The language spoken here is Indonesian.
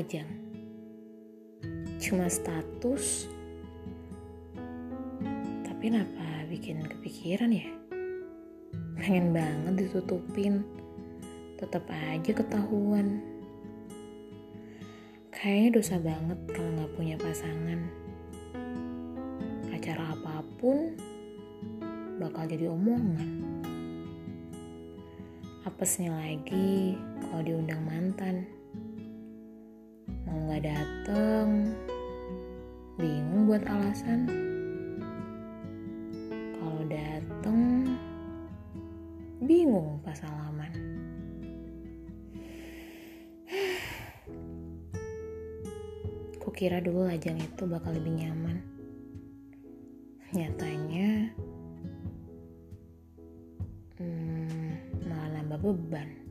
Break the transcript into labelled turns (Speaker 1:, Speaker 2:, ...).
Speaker 1: lajang. Cuma status, tapi kenapa bikin kepikiran ya? Pengen banget ditutupin, tetap aja ketahuan. Kayaknya dosa banget kalau gak punya pasangan. Acara apapun bakal jadi omongan. Apesnya lagi kalau diundang mantan. Mau gak dateng, bingung buat alasan. Kalau dateng, bingung pas salaman. Kukira dulu lajang itu bakal lebih nyaman. Nyatanya malah nambah beban.